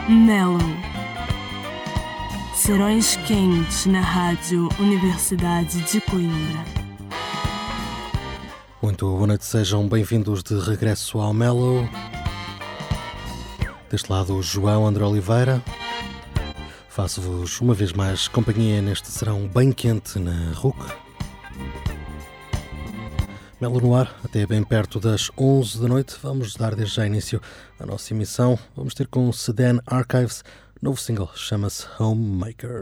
Mellow. Serões quentes na Rádio Universidade de Coimbra. Muito boa noite, sejam bem-vindos de regresso ao Mellow. Deste lado o João André Oliveira. Faço-vos uma vez mais companhia neste serão bem quente na RUC. Mellow no ar, até bem perto das 11 da noite. Vamos dar desde já início à nossa emissão. Vamos ter com Sedan Archives, novo single, chama-se Homemaker.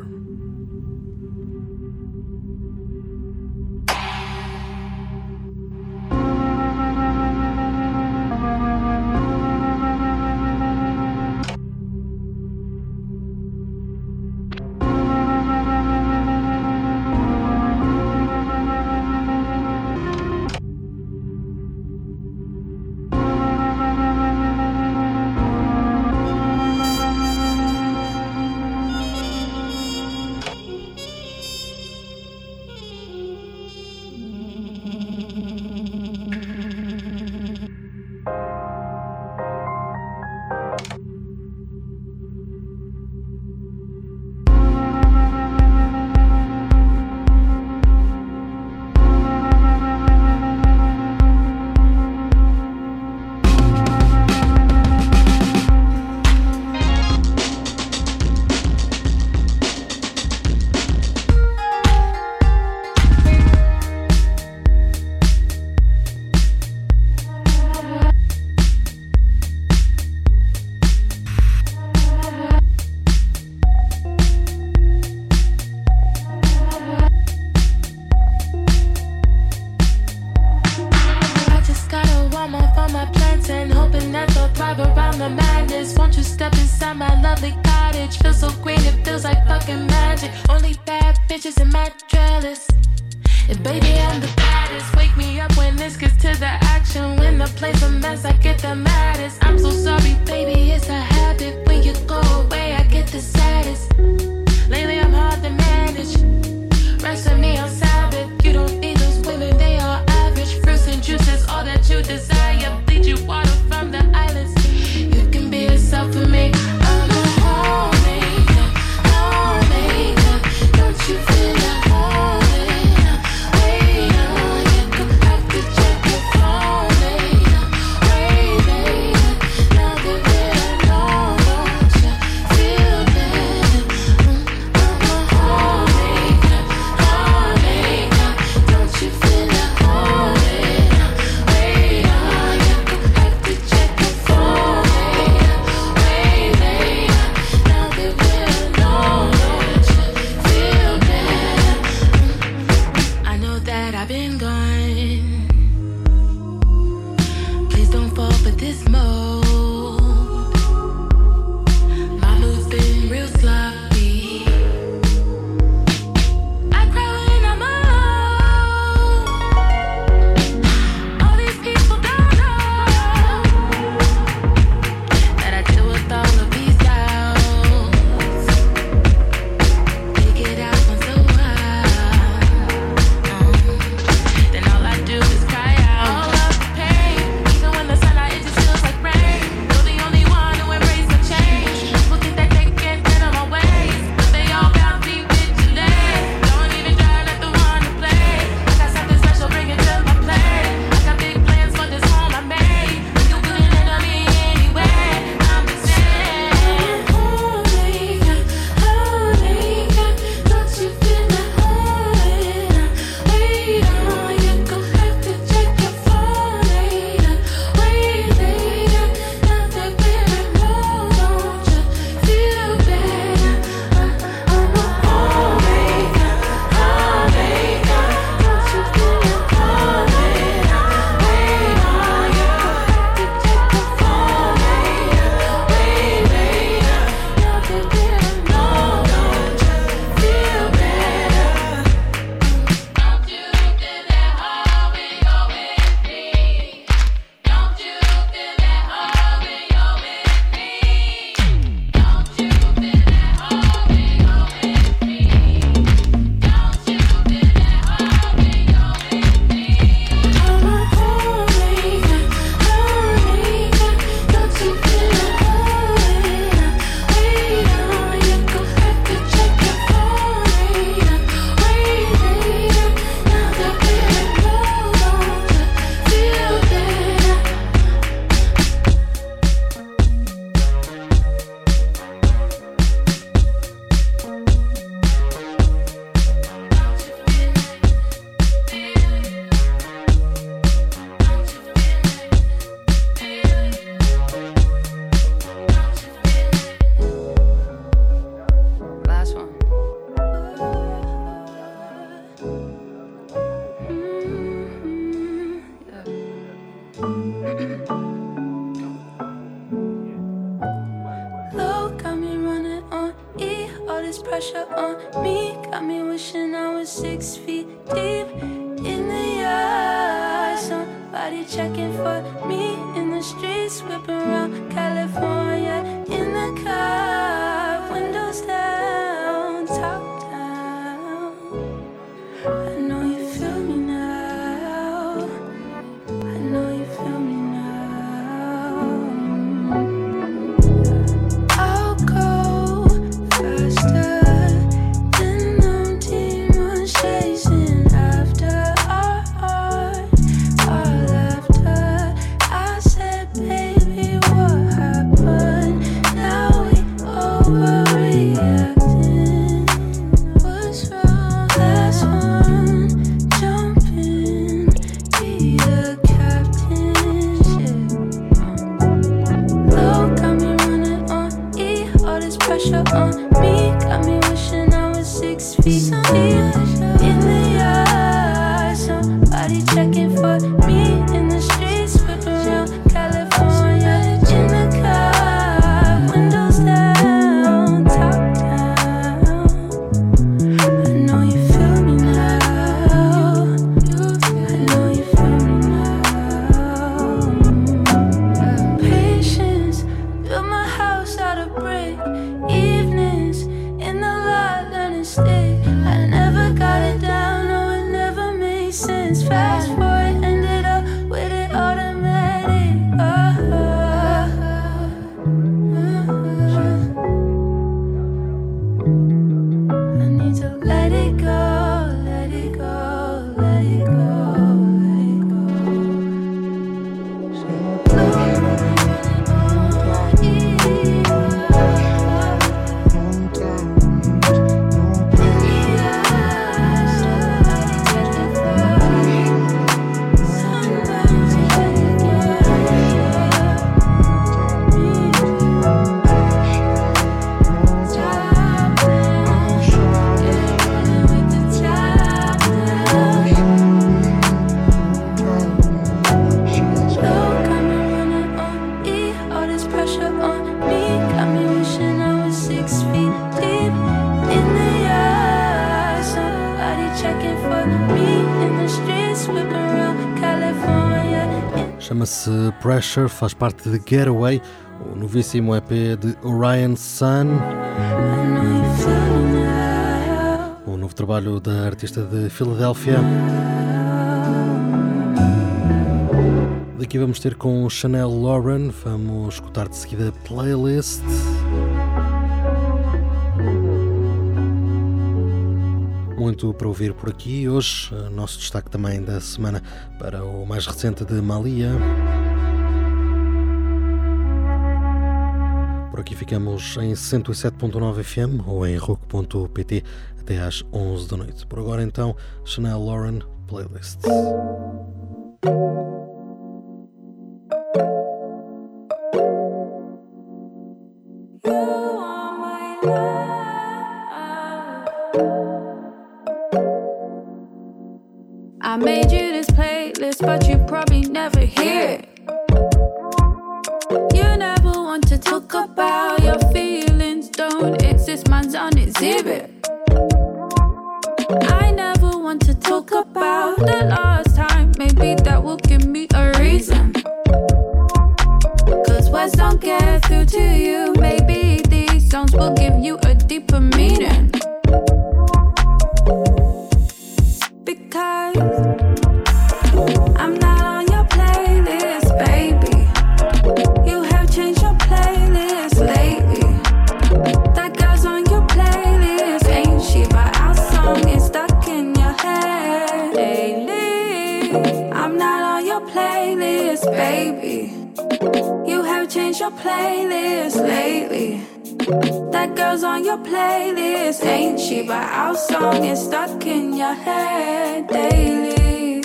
pressure on me. Got me wishing I was 6 feet deep in the yard. Somebody checking for me in the streets, whipping around California in the car. Windows down, top down. I know you feel me now. I know you feel me now. I'll go faster than them demons chasing after our laughter. I said, baby, what happened? Now we overreacting. What's wrong? Last one, jump in, be the captain. Shit. Low got me running on E, all this pressure on me. Got me wishing I was 6 feet deep in the yard. Somebody checking for me in the streets, whipping around California in the car. Windows down, top down. I know you feel me now. I know you feel me now. Patience, built my house out of brick. Evenings in the lot, learning stick. I never got it down, no, it never made sense. Fast forward, ended up with it automatic. I need to let it go, let it go, let it go, let it go. Chama-se Pressure, faz parte de Getaway, o novíssimo EP de Orion Sun, o novo trabalho da artista de Filadélfia. Daqui vamos ter com Chanel Lauren, vamos escutar de seguida Playlist. Muito para ouvir por aqui. Hoje, nosso destaque também da semana para o mais recente de Malia. Por aqui ficamos em 107.9 FM ou em rock.pt até às 11 da noite. Por agora então, Chanel Lauren, Playlist. I made you this playlist, but you probably never hear it. You never want to talk about your feelings, don't exist, mine's on exhibit. I never want to talk about the last time, maybe that will give me a reason. Cause words don't get through to you, maybe these songs will give you a deeper meaning. Because I'm not on your playlist, baby. You have changed your playlist lately. That girl's on your playlist, ain't she? But our song is stuck in your head lately. I'm not on your playlist, baby. You have changed your playlist lately. That girl's on your playlist, ain't she? But our song is stuck in your head daily.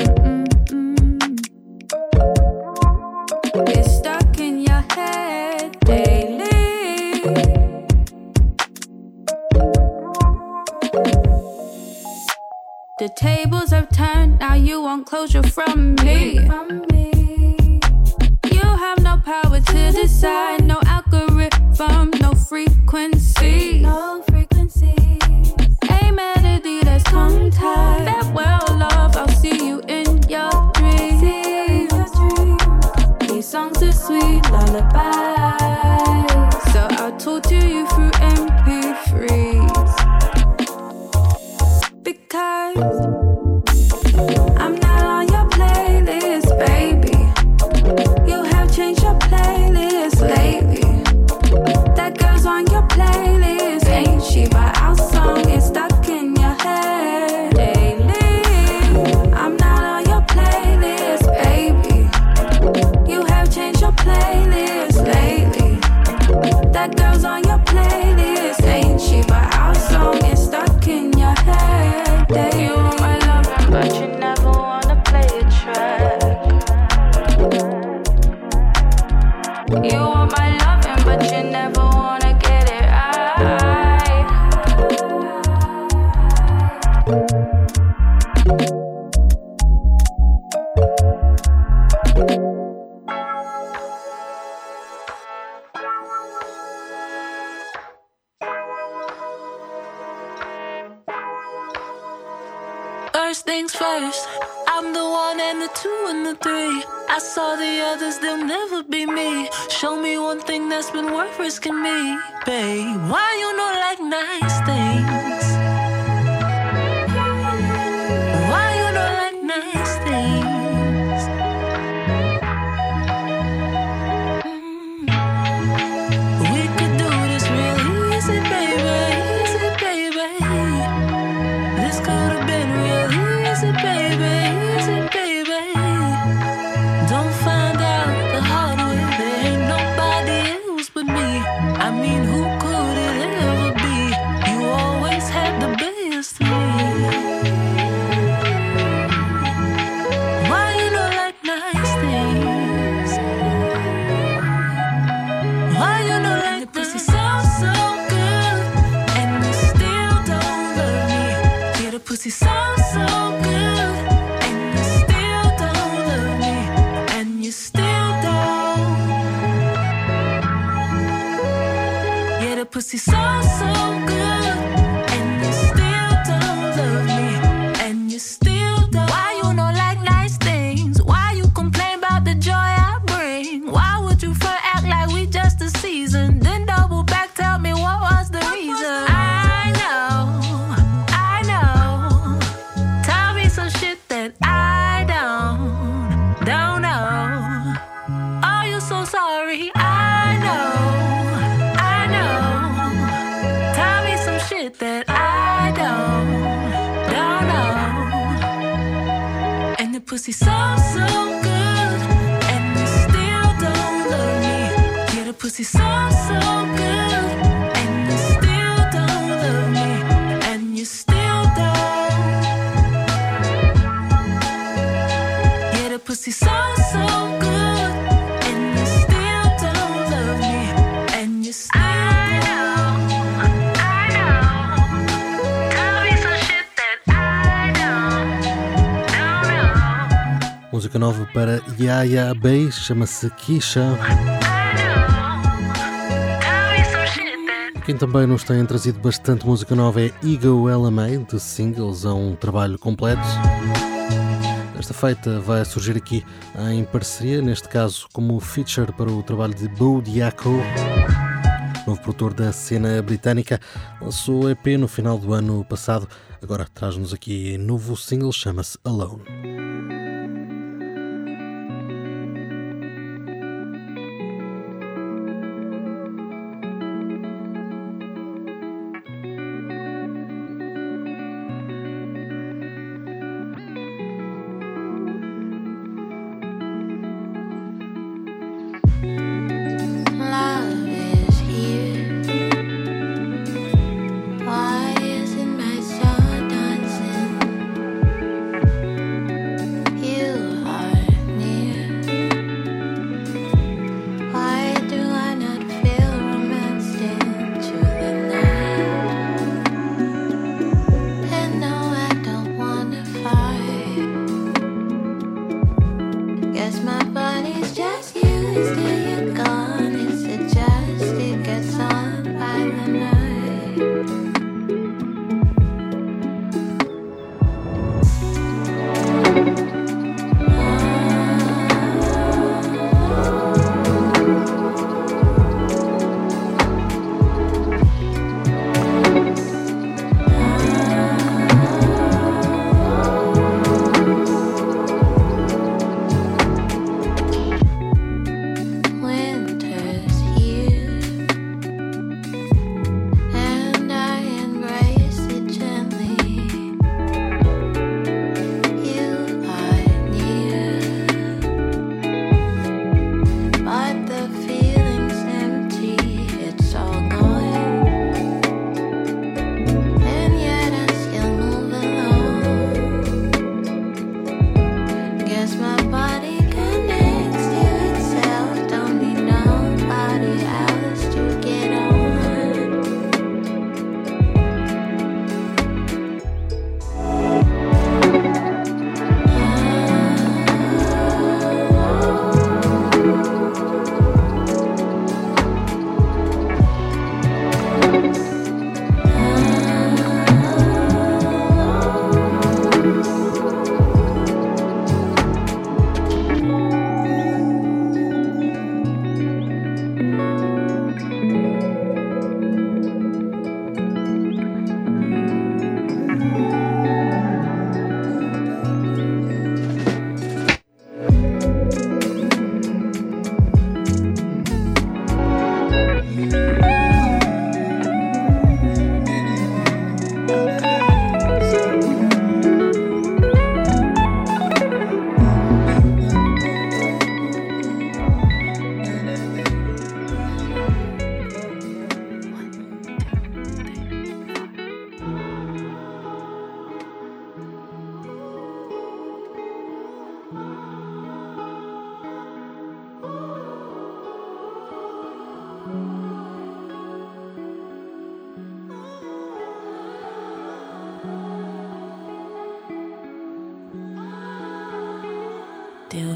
It's stuck in your head daily. The tables have turned, now you want closure from me. You have no power to decide, no algorithm, no frequency. No frequency. lullabies. So I'll talk to you through MP3s. Because I'm not on your playlist, baby. You have changed your playlist lately. That girl's on your playlist, ain't she? But our song is stuck in your head daily. I'm not on your playlist, baby. You have changed your playlist lately. That girl's on your playlist, ain't she? But our song is stuck in your head daily. You want my love, but you never wanna play a track. You want my loving, but you never wanna get it right. First things first, I'm the one and the two and the three. I saw the others, they'll never be me. Show me one thing that's been worth risking me, babe. Why you not like nice things? Why you not like nice things? We could do this real easy, baby, easy, baby. This could have been real easy, baby, easy, baby. Don't find out the hard way. There ain't nobody else but me. I mean, who could it ever be? You always had the best of me. Why you not like nice things? Why you not like the pussy sounds so good and you still don't love me? Yeah, the pussy sounds so good and you still don't love me, and you still don't. Yeah, the pussy sounds so good and you still don't love me, and you still don't. Why you not like nice things? Why you complain about the joy I bring? Why would you front act like we just a season, then double back, tell me what was the reason? I know. Tell me some shit that I don't know. Are you so sorry? I know. Tell me some shit that I don't know. And the pussy sounds so good and you still don't love me. Yeah, the pussy sounds so good and you still don't love me, and you still don't. Yeah, the pussy sounds so good and you still don't love me, and you still don't. I know. Tell me some shit that I don't know. Música nova para Yaya Bay, chama-se Keisha. Quem também nos tem trazido bastante música nova é Ego LMA, de singles a um trabalho completo. Esta feita vai surgir aqui em parceria, neste caso como feature para o trabalho de Bo Diaco, novo produtor da cena britânica. Lançou EP no final do ano passado, agora traz-nos aqui novo single, chama-se Alone. Love is here. Why isn't my soul dancing? You are near. Why do I not feel romanced into the night? And no, I don't wanna fight. Guess my body's just used to you gone. It's just it gets on by the night.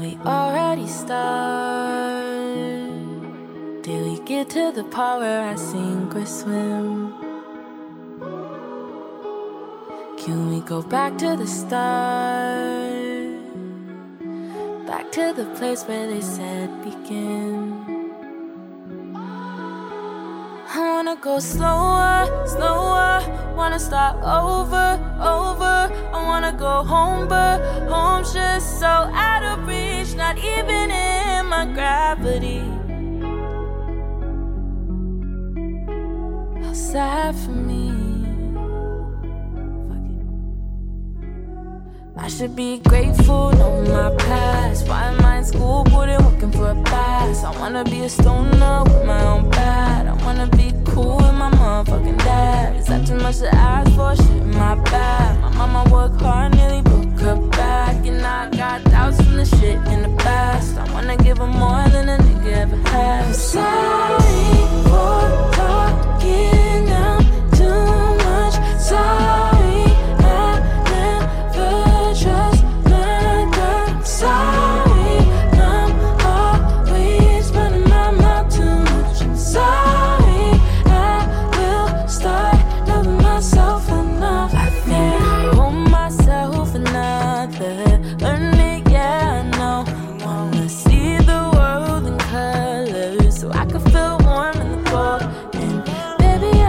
we already start? Did we get to the part where I sink or swim? Can we go back to the start? Back to the place where they said begin. I wanna go slower, slower. Wanna start over, over. I wanna go home, but home's just so out of reach. Not even in my gravity. How sad for me. I should be grateful, know my past. Why am I in school, boarding, working for a pass? I wanna be a stoner with my own bad. I wanna be cool with my motherfucking dad. Is that too much to ask for? Shit, my bad. My mama worked hard, nearly broke her back. And I got doubts from the shit in the past. I wanna give her more than a nigga ever had. I'm sorry for talking out too much. Sorry. Sorry, I'm always running my mouth too much. I'm sorry, I will start loving myself enough. I think I owe myself another. Learn it, yeah, I know. Wanna see the world in colors so I can feel warm in the cold. And maybe I,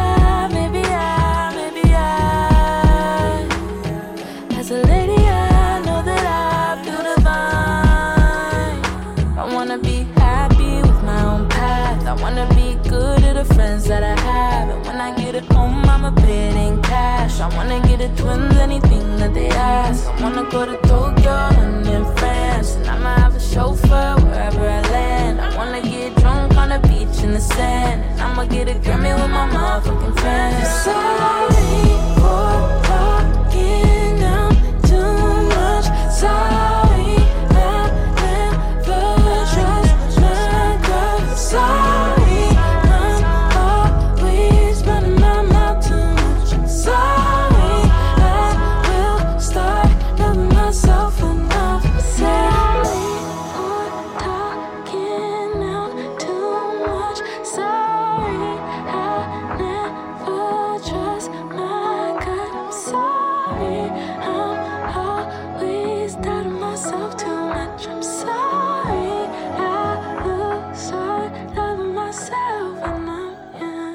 as a lady, I know that I feel divine. I wanna be happy with my own path. I wanna be good to the friends that I have. And when I get it home, I'ma pay it in cash. I wanna get the twins, anything that they ask. I wanna go to Tokyo and in France. And I'ma have a chauffeur wherever I land. I wanna get drunk on the beach in the sand. And I'ma get a Grammy with my motherfucking friends. Sorry for talking out too much. Sorry, I never trust my girl. Sorry, I'm always running my mouth too much. Sorry, I will start loving myself enough. Sorry for talking out too much. Sorry, I never trust my gut. I'm sorry, I'm always doubting myself too much. I'm sorry, I will start loving myself enough, yeah.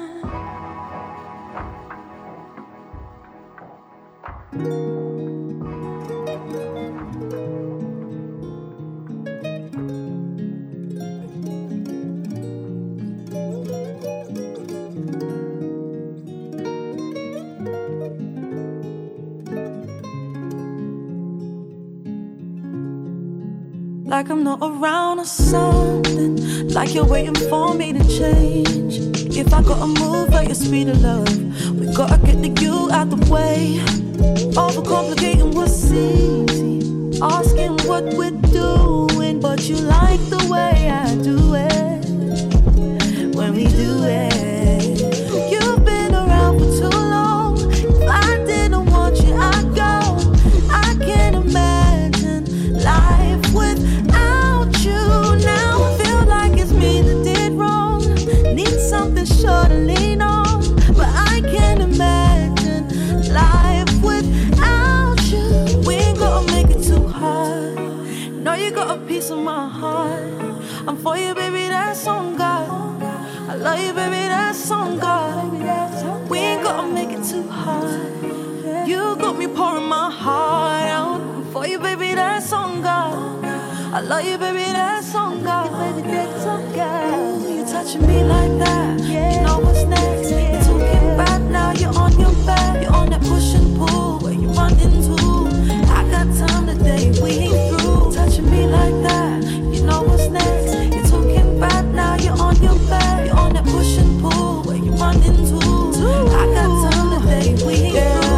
Like I'm not around or something. Like you're waiting for me to change. If I gotta move at your speed of love, we gotta get the you out the way. Overcomplicating what's easy, asking what we're doing, but you like the way I do it. When we do it, you've been around for too long. If I didn't want you, I'd go. I can't imagine life without you now. Feel like it's me that did wrong. Need something sure to lean on, but I can't imagine life without you. We ain't gotta make it too hard. Know you got a piece of my heart. I'm for you, baby, that's on God. I love you, baby, that's on God. We ain't gotta make it too hard. You got me pouring my heart out. I'm for you, baby, that's on God. I love you, baby, that's on God. Baby, that's on God. You touching me like that, you know what's next. You're talking back now, you're on your back. You're on that push and pull, where you run into. I got time today, we ain't through. Touching me like that, you know what's next. You're talking back now, you're on your back. You're on that push and pull, where you run into. I got time today, we ain't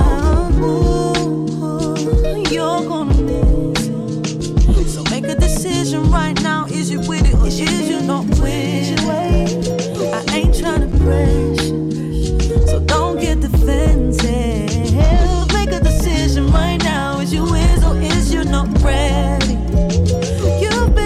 through. You're gonna miss it. So make a decision right now. Is you with it or is you not with it? I ain't tryna pressure, so don't get defensive. Make a decision right now. Is you with or is you not ready? You've been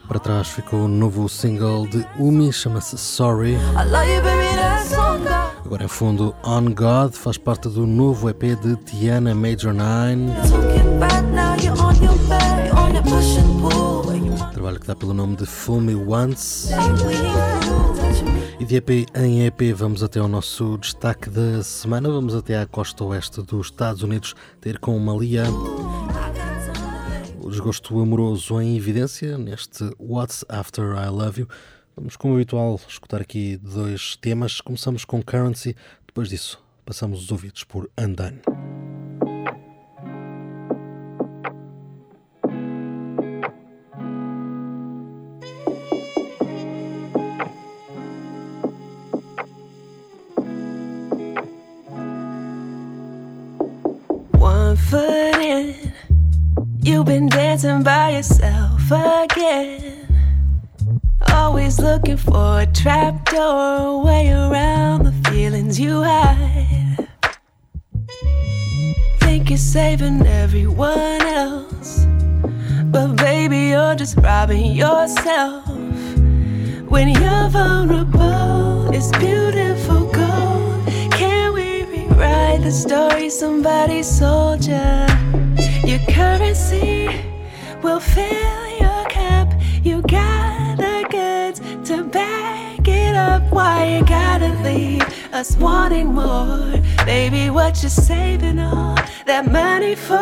Para trás ficou o novo single de Umi, chama-se Sorry. I love you, baby, that's on God. Agora em fundo, On God, faz parte do novo EP de Tiana Major 9. Talking back now, you're on your back, on your push and pull. Trabalho que dá pelo nome de Fool Me Once. We touch me. E de EP em EP vamos até ao nosso destaque da semana. Vamos até à costa oeste dos Estados Unidos ter com Malia. O desgosto amoroso em evidência neste What's After I Love You. Vamos, como habitual, escutar aqui 2 temas. Começamos com Currency, depois disso passamos os ouvidos por Undone. One foot in, you've been dancing by yourself again. Always looking for a trapdoor, a way around the feelings you hide. Think you're saving everyone else, but baby, you're just robbing yourself. When you're vulnerable, it's beautiful gold. Can we rewrite the story somebody sold you? Your currency will fill your cup. You got the goods to back it up. Why you gotta leave us wanting more? Baby, what you saving all that money for?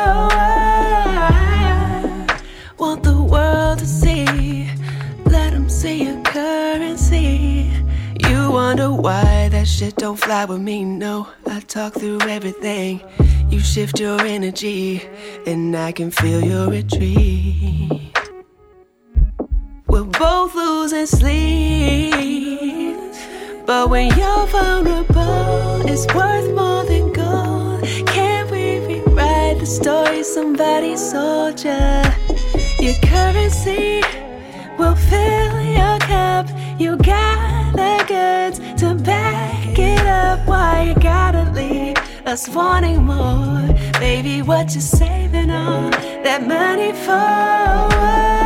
Want the world to see, let them see your currency. You wonder why that shit don't fly with me. No, I talk through everything. You shift your energy and I can feel your retreat. We're both losing sleep, but when you're vulnerable, it's worth more than gold. Can't we rewrite the story somebody sold you? Your currency will fill your cup. You got the goods to back it up. Why you gotta leave us wanting more? Baby, what you saving all that money for?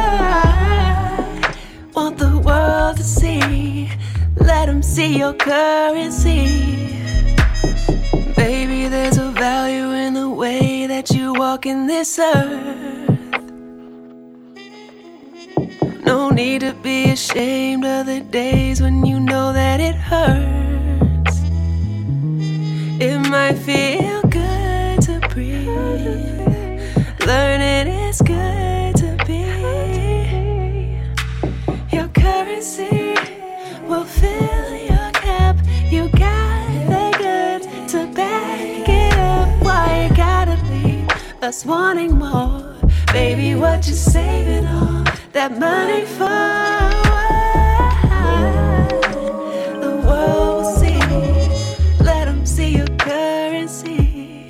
Want the world to see, let them see your currency. Baby, there's a value in the way that you walk in this earth. No need to be ashamed of the days when you know that it hurts. It might feel good to breathe, learning it's good to be. Your currency will fill your cup. You got the goods to back it up. Why you gotta leave us wanting more? Baby, what you saving all that money for? The world will see, let them see your currency.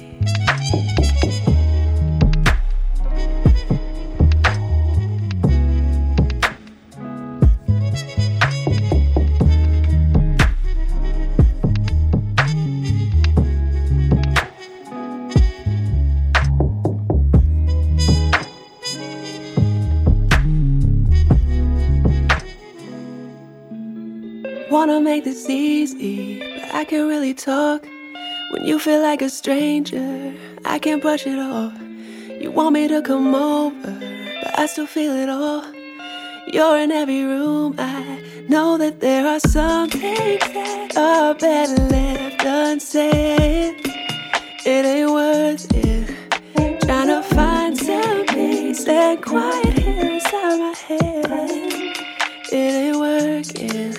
Wanna make this easy, but I can't really talk. When you feel like a stranger, I can't brush it off. You want me to come over, but I still feel it all. You're in every room, I know that there are some things that are better left unsaid. It ain't worth it, trying to find some peace and quiet here inside my head. It ain't working.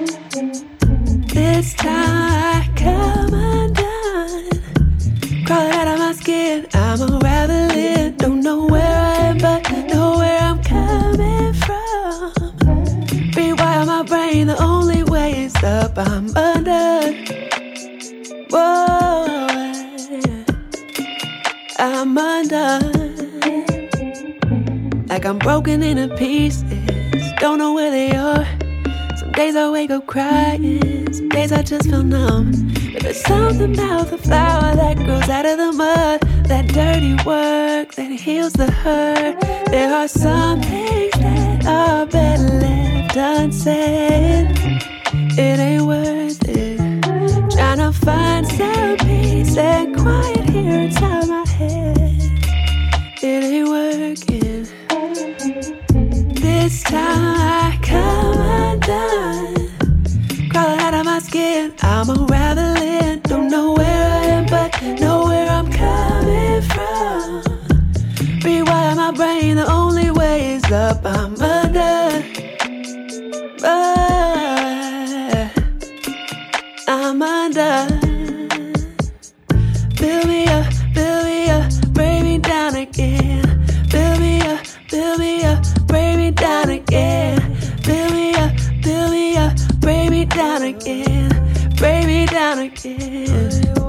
This time I come undone, crawling out of my skin, I'm unraveling. Don't know where I am, but know where I'm coming from. Rewire my brain, the only way is up, I'm undone. Whoa, I'm undone. Like I'm broken into pieces, don't know where they are. Some days I wake up crying, some days I just feel numb. But there's something about the flower that grows out of the mud, that dirty work that heals the hurt. There are some things that are better left unsaid. It ain't worth it. Tryna find some peace and quiet here inside my head. It ain't working. This time I come undone. Crawling out of my skin, I'm unraveling. Don't know where I am, but know where I'm coming from. Rewire my brain, the only way is up. I'm undone. I'm undone. Build me up, bring me down again. Build me up, bring me down again. Build me up, bring me down again. Bring me down again.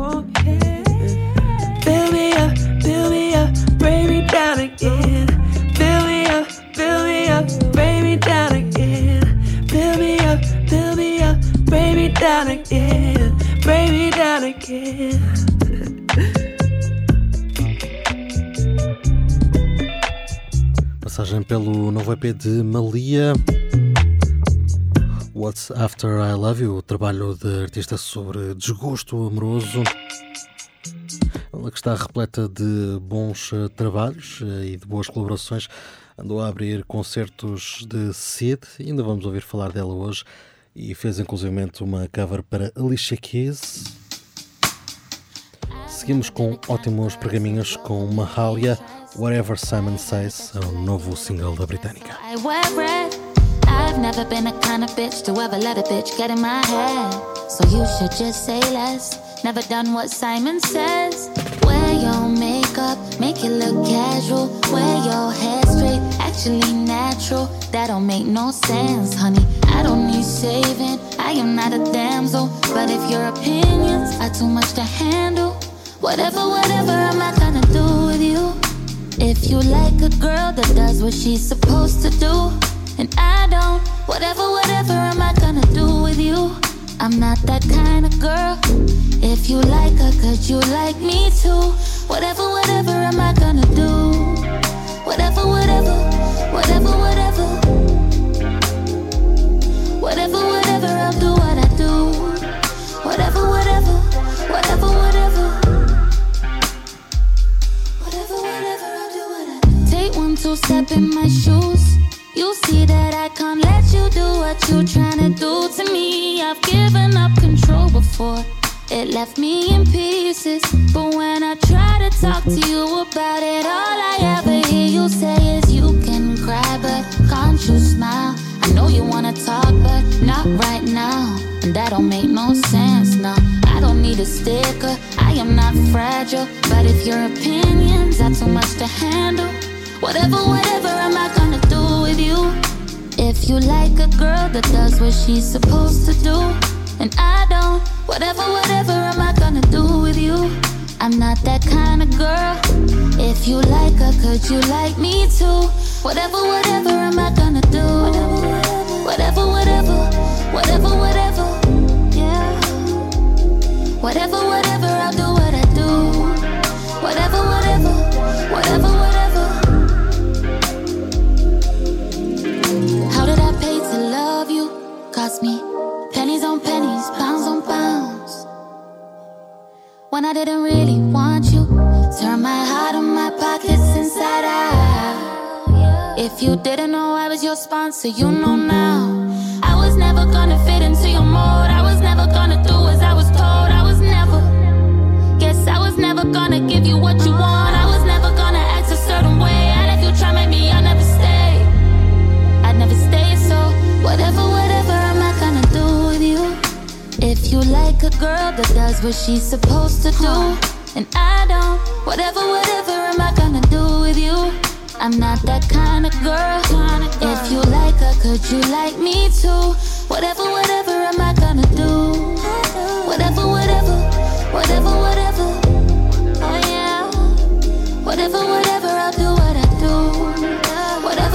Build me up, bring me down again. Build me up, bring me down again. Build me up, bring me down again. Bring me down again. Passagem pelo novo EP de Malia, What's After I Love You, o trabalho de artista sobre desgosto amoroso. Ela que está repleta de bons trabalhos e de boas colaborações. Andou a abrir concertos de Sid, ainda vamos ouvir falar dela hoje, e fez inclusivamente uma cover para Alicia Keys. Seguimos com ótimos pergaminhos com Mahalia, Whatever Simon Says, é o novo single da britânica. I wear red. I've never been the kind of bitch to ever let a bitch get in my head. So you should just say less. Never done what Simon says. Wear your makeup, make it look casual. Wear your hair straight, actually natural. That don't make no sense, honey. I don't need saving, I am not a damsel. But if your opinions are too much to handle, whatever I'm not gonna do with you. If you like a girl that does what she's supposed to do, and I don't, whatever am I gonna do with you? I'm not that kind of girl. If you like her, could you like me too? Whatever am I gonna do? Whatever I'll do what I do. Whatever I'll do what I do. Take 1, 2 step in my shoes. You see that I can't let you do what you tryna do to me. I've given up control before, it left me in pieces. But when I try to talk to you about it, all I ever hear you say is you can cry, but can't you smile? I know you wanna talk, but not right now. And that don't make no sense, no. I don't need a sticker, I am not fragile. But if your opinions are too much to handle, whatever am I gonna do with you? If you like a girl that does what she's supposed to do, and I don't, whatever am I gonna do with you? I'm not that kind of girl. If you like her, could you like me too? Whatever am I gonna do? Whatever, yeah. Whatever, I'll do what I do. Whatever. How did I pay to love you? Cost me pennies on pennies, pounds on pounds. When I didn't really want you, turn my heart and my pockets inside out. If you didn't know I was your sponsor, you know now. I was never gonna fit into your mold. I was never gonna do as I was told. I was never gonna give you what you want. I was never gonna act a certain way. And if you try make me, I'll never stay. I'd never stay, so whatever am I gonna do with you? If you like a girl that does what she's supposed to do, and I don't, whatever am I gonna do with you? I'm not that kind of girl. If you like her, could you like me too? Whatever am I gonna do? Whatever, oh yeah. Whatever, I'll do what I do. Whatever,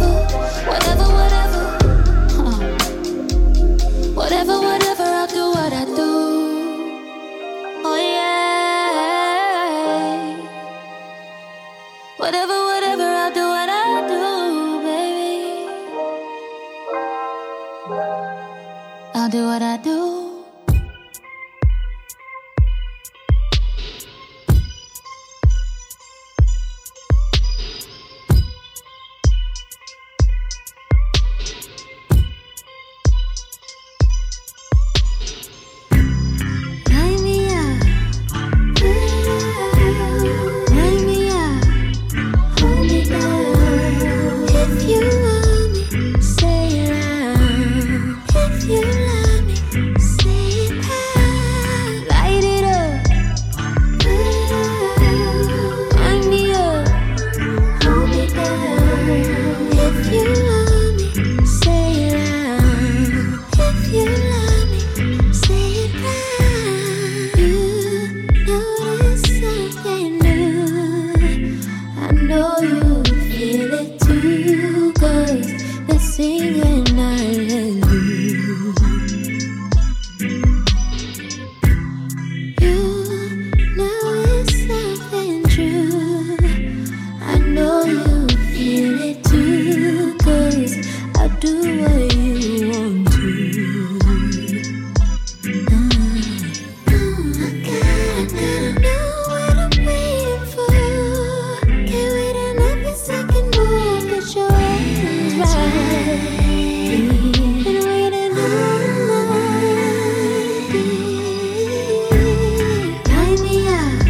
Whatever, I'll do what I do. Oh yeah. Whatever, I'll do what I do, baby. really do, 'cause I'll do what you want to. I gotta know what I'm waiting for. Can't wait another second more, but your hands right. Been waiting all night. Tie me up,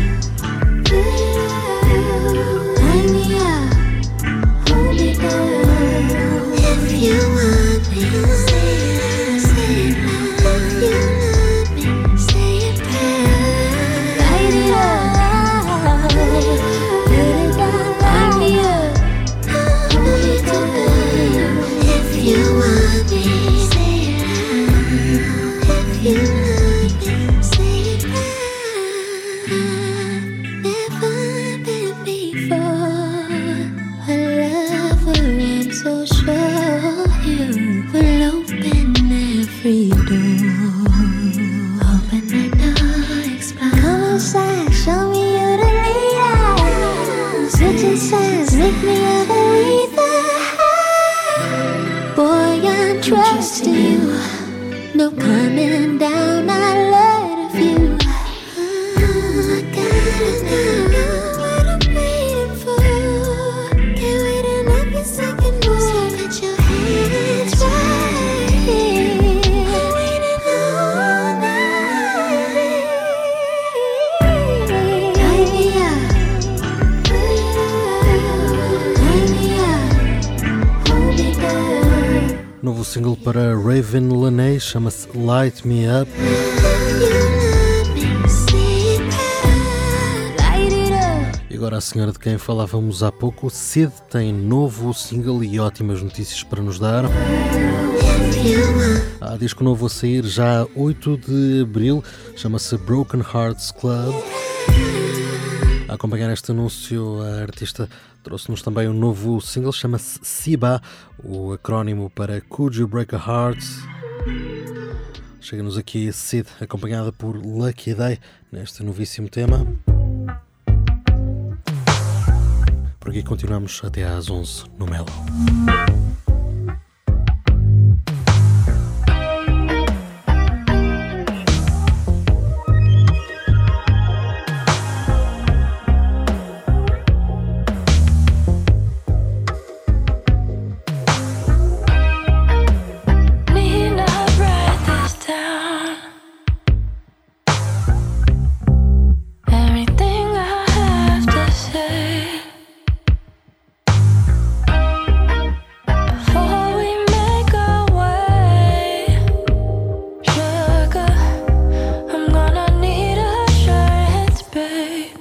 tie me up, hold me down. If you want me, say it, say it loud. If you love me, say it proud. Light it up, put it down. Light me up, hold me down. If you want me, say it loud. If you love me, say it proud. Never been before a lover, I'm so sure you will open every door. Open the door, explore. Come inside, show me you the leader. Switching sides, make me a believer. Boy, I'm trusting you. No coming down, I love you. I gotta know what I'm waiting for. Can't wait another second more. So put your hands right here. I'm waiting all night. Tie me up, tie me up, hold me down. Novo single para Raven Laney, chama-se Light Me Up. E agora a senhora de quem falávamos há pouco, Sid, tem novo single e ótimas notícias para nos dar. Há disco novo a sair já 8 de abril, chama-se Broken Hearts Club. A acompanhar este anúncio, a artista trouxe-nos também um novo single, chama-se Siba, o acrónimo para Could You Break a Heart. Chega-nos aqui Sid, acompanhada por Lucky Day, neste novíssimo tema. Por aqui continuamos até às 11 no Melo. Need not write this down. Everything I have to say. Before we make our way, sugar, I'm gonna need assurance, babe.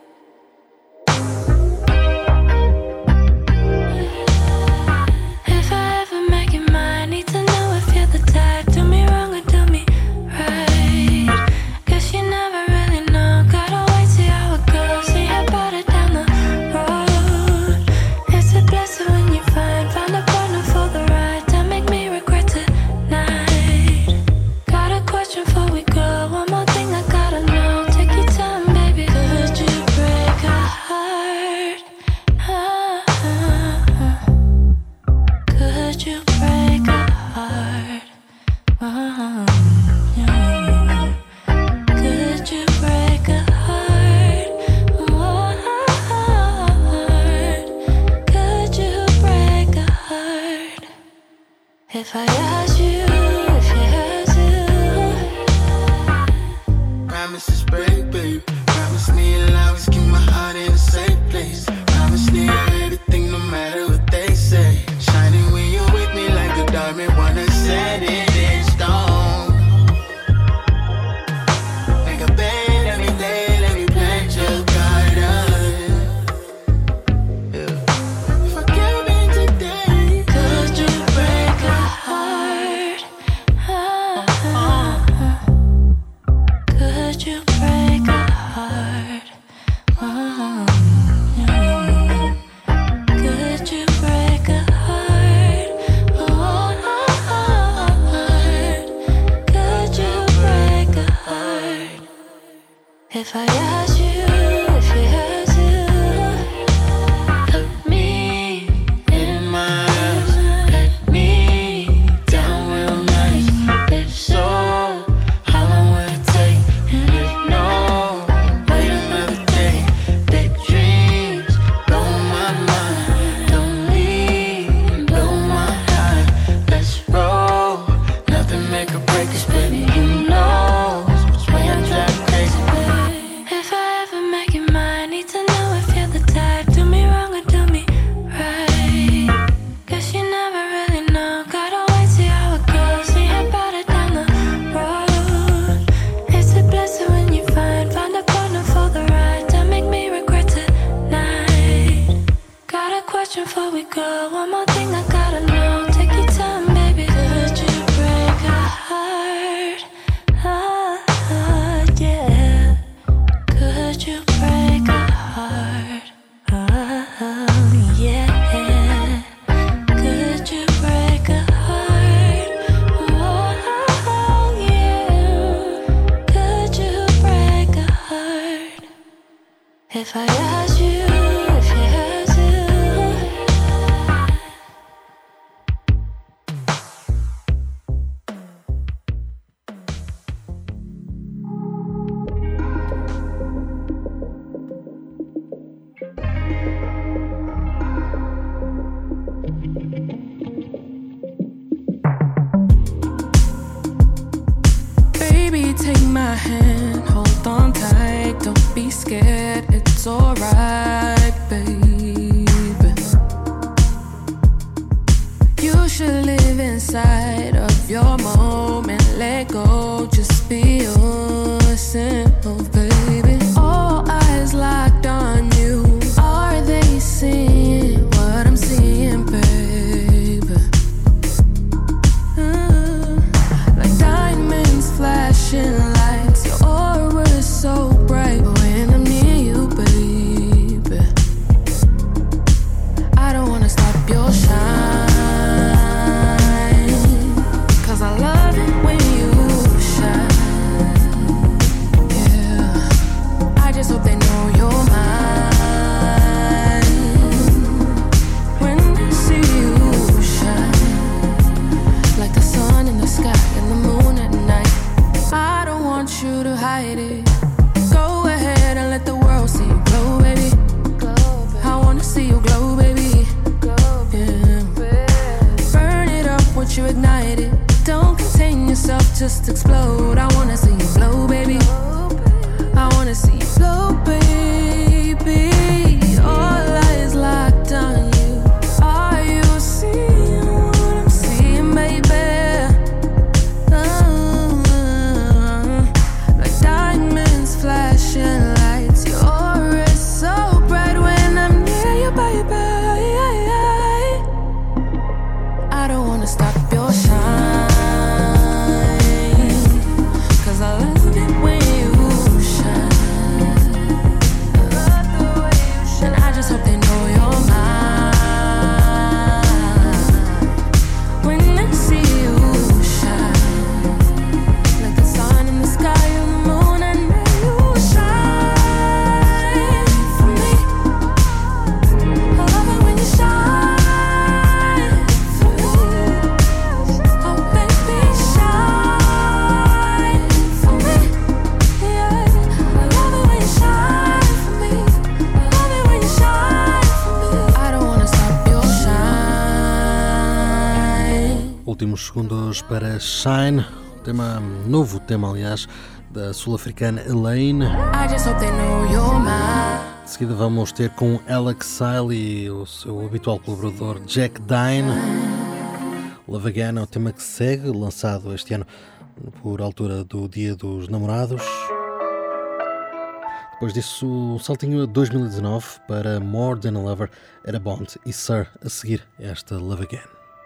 If I ever make you mine, need to know if you're the type. Do me wrong or do me right. Guess you never really know. Gotta wait, see how it goes. See how about it down the road. It's a blessing when you find a partner for the ride. Don't make me regret tonight. Got a question before we go. One more thing I gotta know. Take your time, baby. Could you break a heart? Could you break a heart? Yeah. Could you break a heart? Could you break a heart? If I asked you if you had to. Promises break, babe. Promise me you'll always keep my heart in a safe place. Promise me everything, no matter what they say. Shining when you're with me like a diamond, wanna set it in stone. Make a bed every day, let me plant your garden. Yeah. If I came in today, Could you break a heart? question before we go. One more thing I gotta know. Take your time, baby. Could you break a heart? Yeah. Could you break a heart? Yeah. Could you break a heart? Yeah. Could you break a heart? If I asked you, if you had to. Baby, take my hand, hold on tight, don't be scared, it's alright, baby. You should live inside of your moment, let go, just be yourself, baby. All eyes locked on you, are they seeing what I'm seeing, baby? Like diamonds flashing lights, your aura is so bright when I'm near you, baby. I don't wanna stop your shine, 'cause I love it when you shine. Yeah, I just hope they know you're mine when they see you shine, like the sun in the sky and the moon at night. I don't want you to hide it. Go ahead and let the world see you glow, baby. I wanna see you glow, baby. Yeah. Burn it up once you ignite it. Don't contain yourself, just explode. I wanna see you glow, baby. I wanna see you glow, baby. All eyes locked on you. Are you seeing what I'm seeing, baby? Like diamonds flashing lights, your aura is so bright when I'm near you, baby. I don't wanna stop your shine, 'cause I love it when you shine. I love the way you shine. And I just hope they know you're mine when they see you shine, like the sun in the sky and the moon, and then you shine for me. I love it when you shine for me. Oh baby, shine for me. Yeah, I love it when you shine for me. I love it when you shine for me. I don't wanna stop your shine. Últimos segundos para Shine, novo tema, aliás, da sul-africana Elaine. I just hope they know you're mine. De seguida vamos ter com Alex Sile e o seu habitual colaborador Jack Dine. Love Again é o tema que segue, lançado este ano por altura do Dia dos Namorados. Depois disso, um saltinho a 2019 para More Than a Lover, Era Bond e Sir, a seguir esta Love Again.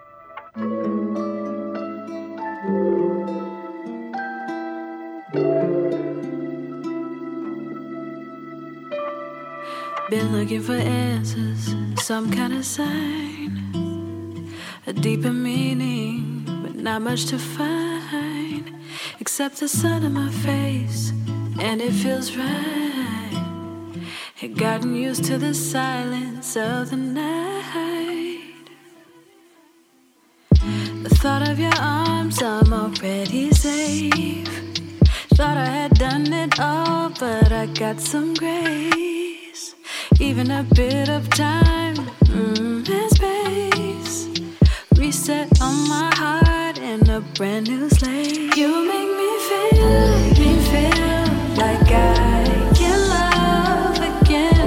Been looking for answers, some kind of sign, a deeper meaning, but not much to find, except the sun in my face, and it feels right. Had gotten used to the silence of the night. The thought of your arms, I'm already safe. Thought I had done it all, but I got some grace. Even a bit of time and space. Reset on my heart and a brand new slate. You make me feel like I can love again.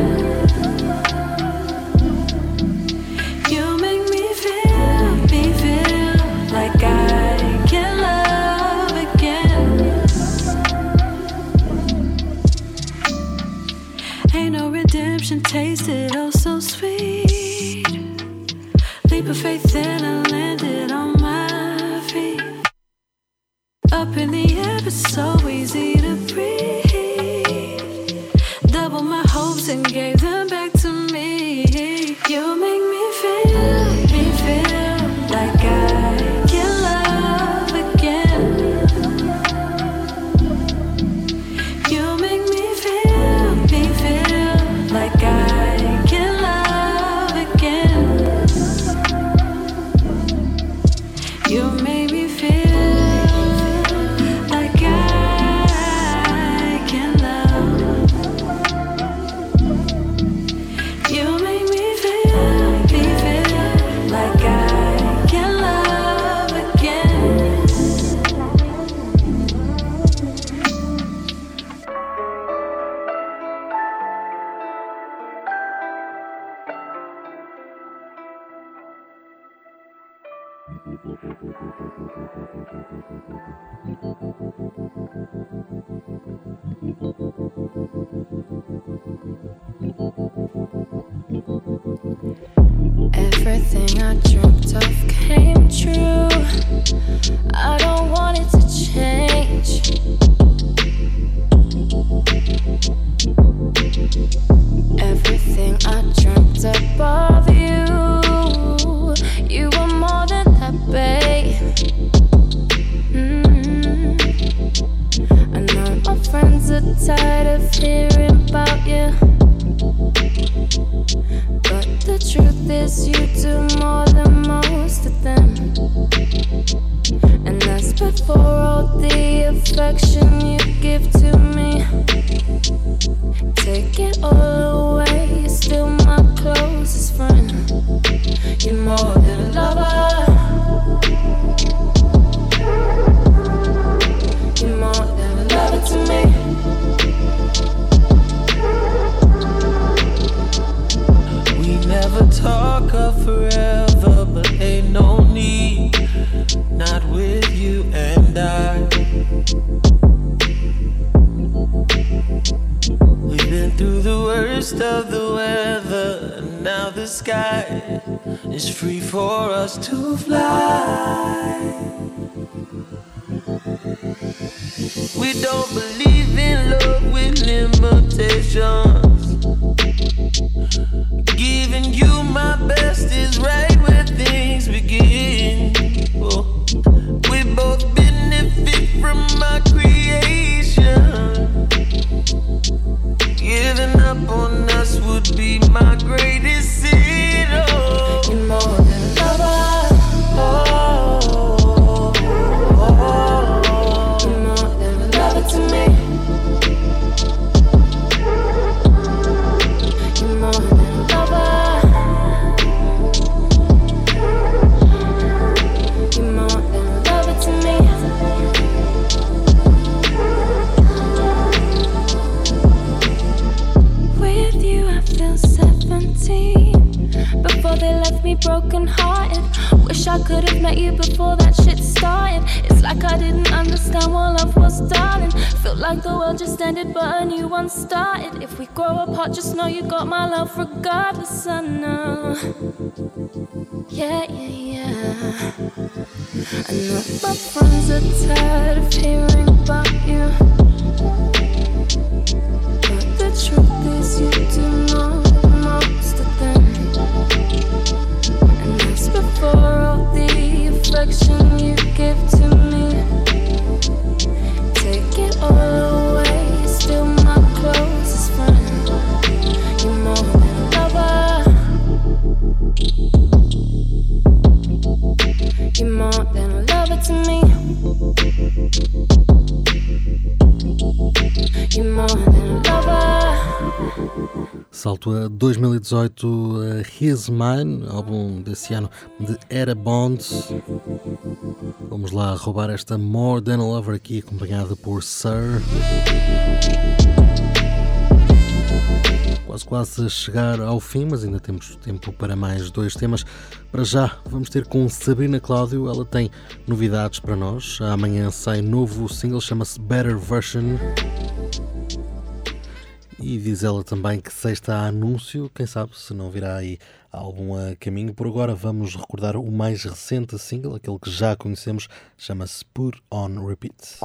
You make me feel like I can love again. Ain't no redemption, tasted oh so sweet. leap of faith and I landed on my feet. Up in the air, it's so easy to breathe. Double my hopes and gave them back to me. You make me feel like I can love again. You make me feel like I can love again. You make me feel like I can love. You make me feel like I can love again. Everything I dreamt of came true. I don't want it to change. Everything I dreamt of you, you were more than that, babe. I know my friends are tired of hearing about you, but the truth is you do more than most of them. And that's before all the affection you give to me. Take it all away, you're still my closest friend. You're more than a lover. You're more than a lover to me. We never talk of forever, but ain't no need, not with you and I. We've been through the worst of the weather, and now the sky is free for us to fly. We don't believe in love with limitations. Giving you my best is right where things begin. Oh, we both benefit from my creation. Giving up on us would be my greatest sin. Oh, You're more than a lover. You're more than a lover to me. You're more than a lover. You're more than a lover to me. With you I feel 17. Before they left me broken hearted. Wish I could have met you before that shit started. It's like I didn't understand what love was, darling. Felt like the world just ended but a new one started. If we grow apart, just know you got my love regardless, I know. Yeah, yeah, yeah. I know my friends are tired of hearing about you, but the truth is you do know most of them. And that's before all the affection you give to me. Take it all away, you're still my closest friend. You're more than a lover. You're more than a lover to me. You're more than a lover. Salto a 2018, His Mine, álbum desse ano de Era Bond. Vamos lá roubar esta More Than a Lover aqui, acompanhada por Sir. Quase a chegar ao fim, mas ainda temos tempo para mais 2 temas. Para já, vamos ter com Sabrina Cláudio. Ela tem novidades para nós. Amanhã sai novo single, chama-se Better Version. E diz ela também que sexta há anúncio, quem sabe se não virá aí algum a caminho. Por agora vamos recordar o mais recente single, aquele que já conhecemos, chama-se Put On Repeat.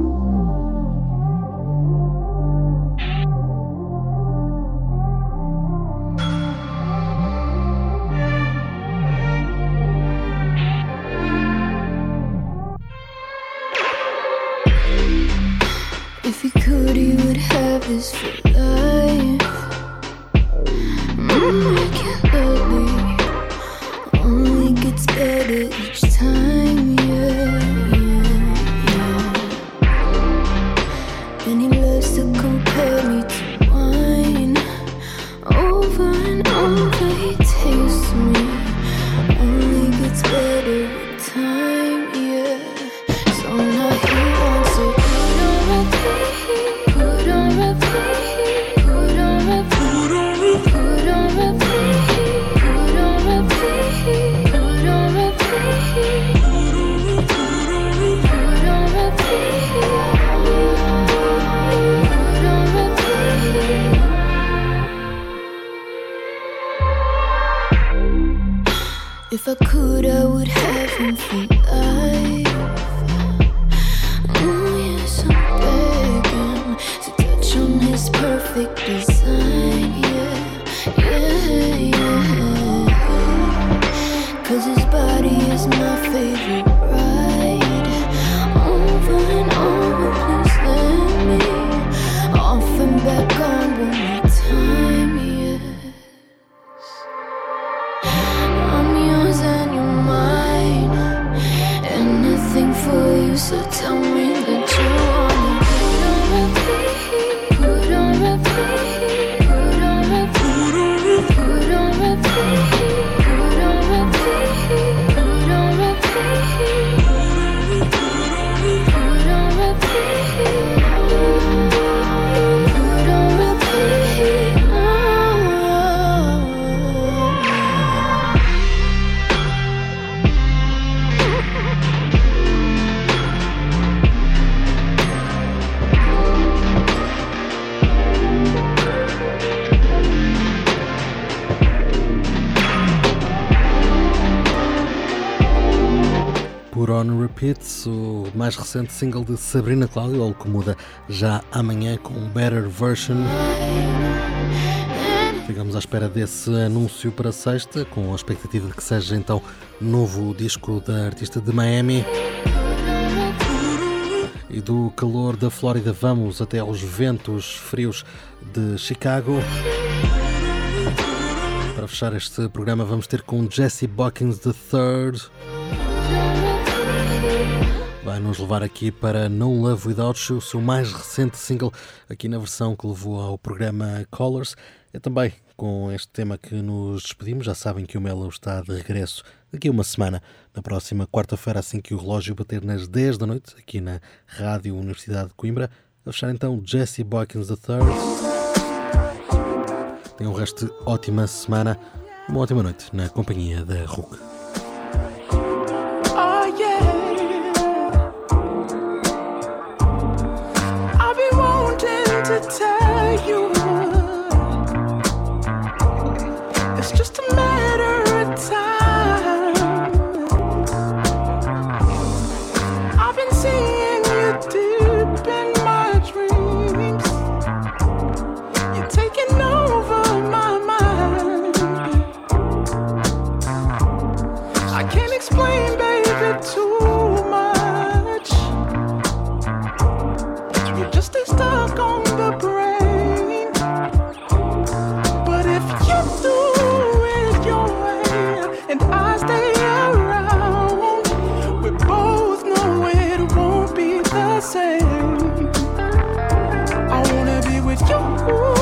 If he could, he would have this for life. I can't believe only gets better each time, yeah. And he loves to compare me to wine. Over and over he tastes me. Only gets better with time, yeah. So now he wants to put on repeat, put on repeat, put on repeat, put on repeat, put on repeat, put on repeat, put on repeat. If I could, I would have him for life. Oh yes, I'm begging to touch on his perfect design, yeah. 'Cause his body is my favorite ride. Over and over, please let me off and back on one more time, yes. I'm yours and you're mine. Anything for you, so tell me that you wanna put on repeat, put on repeat, put on repeat, put on repeat, put on repeat, put on repeat, put on repeat, put on repeat. Put On Repeat, o mais recente single de Sabrina Cláudio, algo que muda já amanhã com Better Version. Ficamos à espera desse anúncio para sexta, com a expectativa de que seja então novo disco da artista de Miami. E do calor da Flórida vamos até aos ventos frios de Chicago. Para fechar este programa vamos ter com Jesse Bockins III. Vai nos levar aqui para No Love Without You, o seu mais recente single, aqui na versão que levou ao programa Colors. É também com este tema que nos despedimos. Já sabem que o Melo está de regresso daqui a uma semana, na próxima quarta-feira, assim que o relógio bater nas 10 da noite, aqui na Rádio Universidade de Coimbra. A fechar então Jesse Bockins III. Tenham um resto de ótima semana, uma ótima noite na companhia da RUC. To tell you, it's just a matter of time. I've been seeing you deep in my dreams. You're taking over my mind. I can't explain, baby, too much. You just stay stuck on the brain. But if you do it your way and I stay around, we both know it won't be the same. I wanna be with you.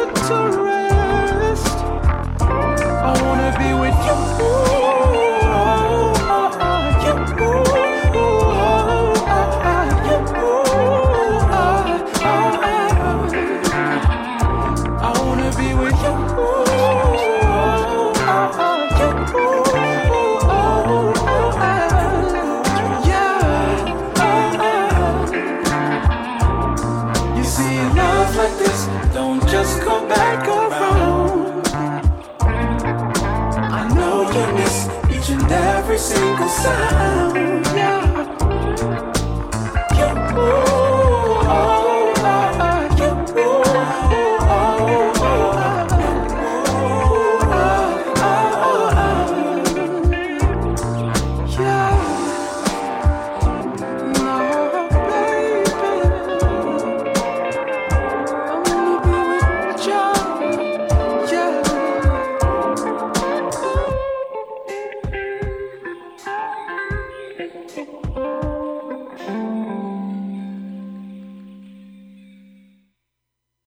put to rest. I wanna be with you. Just come back around. I know you miss each and every single sign.